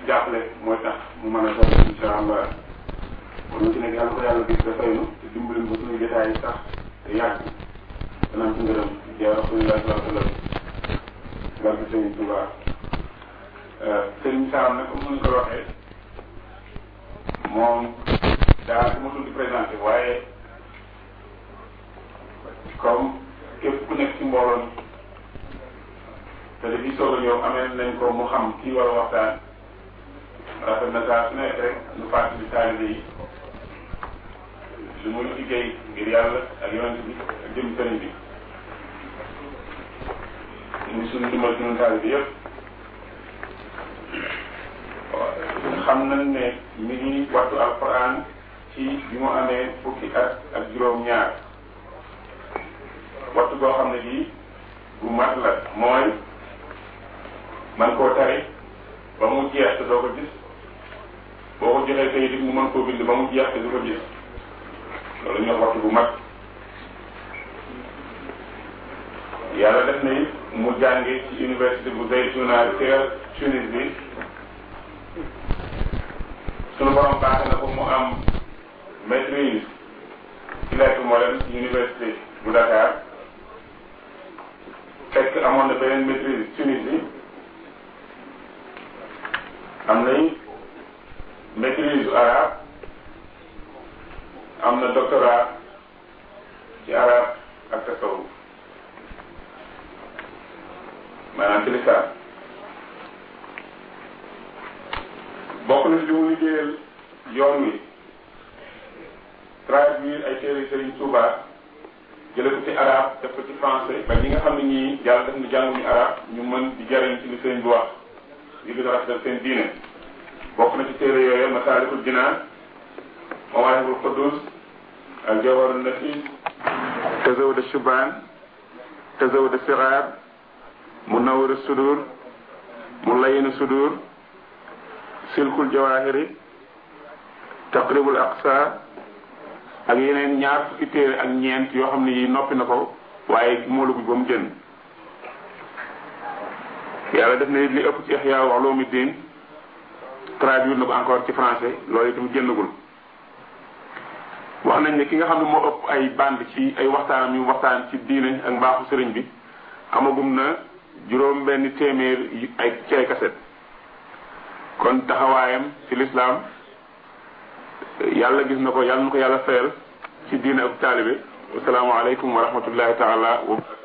jàppale mooy tax mu mën a doon incha allah kon ñu ci nekk yàlla ko yàlla gis dafay nu te dimbali ba suñu jotaay sax te yàgg danañ ci ngërëm ya rasulillah sallallahu alayhi wa sallam barke Sëriñ Tuubaa Sëriñ Sam nag comme ni ko waxee moom daa ko mosul di présenté waaye comme képp ku nekk ci mbooloon te dafiy soog a ñëw amee nañ ko mu xam kii war a waxtaan rafet na saa su nekk rek nu fàttali taalibe yi lu muy liggéey ngir yàlla ak yonent bi ak jëm sëriñ bi muy suñu dimbal suñu taalibe yëpp xam nañ ne mi ngi wattu alquran ci bi mu amee fukki at ak juróom-ñaar wattu boo xam ne bii bu mat la mooy man koo tari ba mu jeex te doo ko gis boo ko joxee kayit it mu mën koo bind ba mu jeex te du ko gis loolu ñoo wattu bu mat yàlla def na it mu jànge ci université bu Zaytuna ca Tunis bi sunu borom baax na ko mu am maîtrise ci lettres modernes ci université bu Dakar fekk amoon na beneen maîtrise Tunisie am nañ maîtrise arabe am na doctorat ci arabe ak tasawuf maanaam ci lisaan bokk na li mu liggéeyal yoon wi traduire ay téere Serigne Touba jële ko ci arabe def ko ci français ba ñi nga xam ne ñii yàlla def na jànguñu arabe ñu mën di jariñ ci li Serigne bi wax li gën a rafetal seen diine bokk na ci téere yooyu Masaalikul Jinaan Mawaahibul Quddus al Jawharun Nafis Tazawwud ash-Shubaan Tazawwud as-Sighar Munawwir as-Sudur Mulayyin as-Sudur Silkul Jawahiri Taqribul Aqsa ak yeneen ñaar fukki téere ak ñeent yoo xam ne yi noppi na ko waaye moolu bi ba mu jën yàlla def na li ëpp ci Ihya Ulumuddin traduire na ko encore ci français loolu itam génnagul wax nañ ne ki nga xam ne moo ëpp ay bande ci ay waxtaanam yu waxtaan ci diine ak mbaaxu sëriñ bi amagum na juróom benn téeméer ay ci ay kaset kon taxawaayam ci lislaam yàlla gis na ko yàlla na ko yàlla fayal ci diine ak taalibe assalaamu aleykum wa rahmatullahi taala wa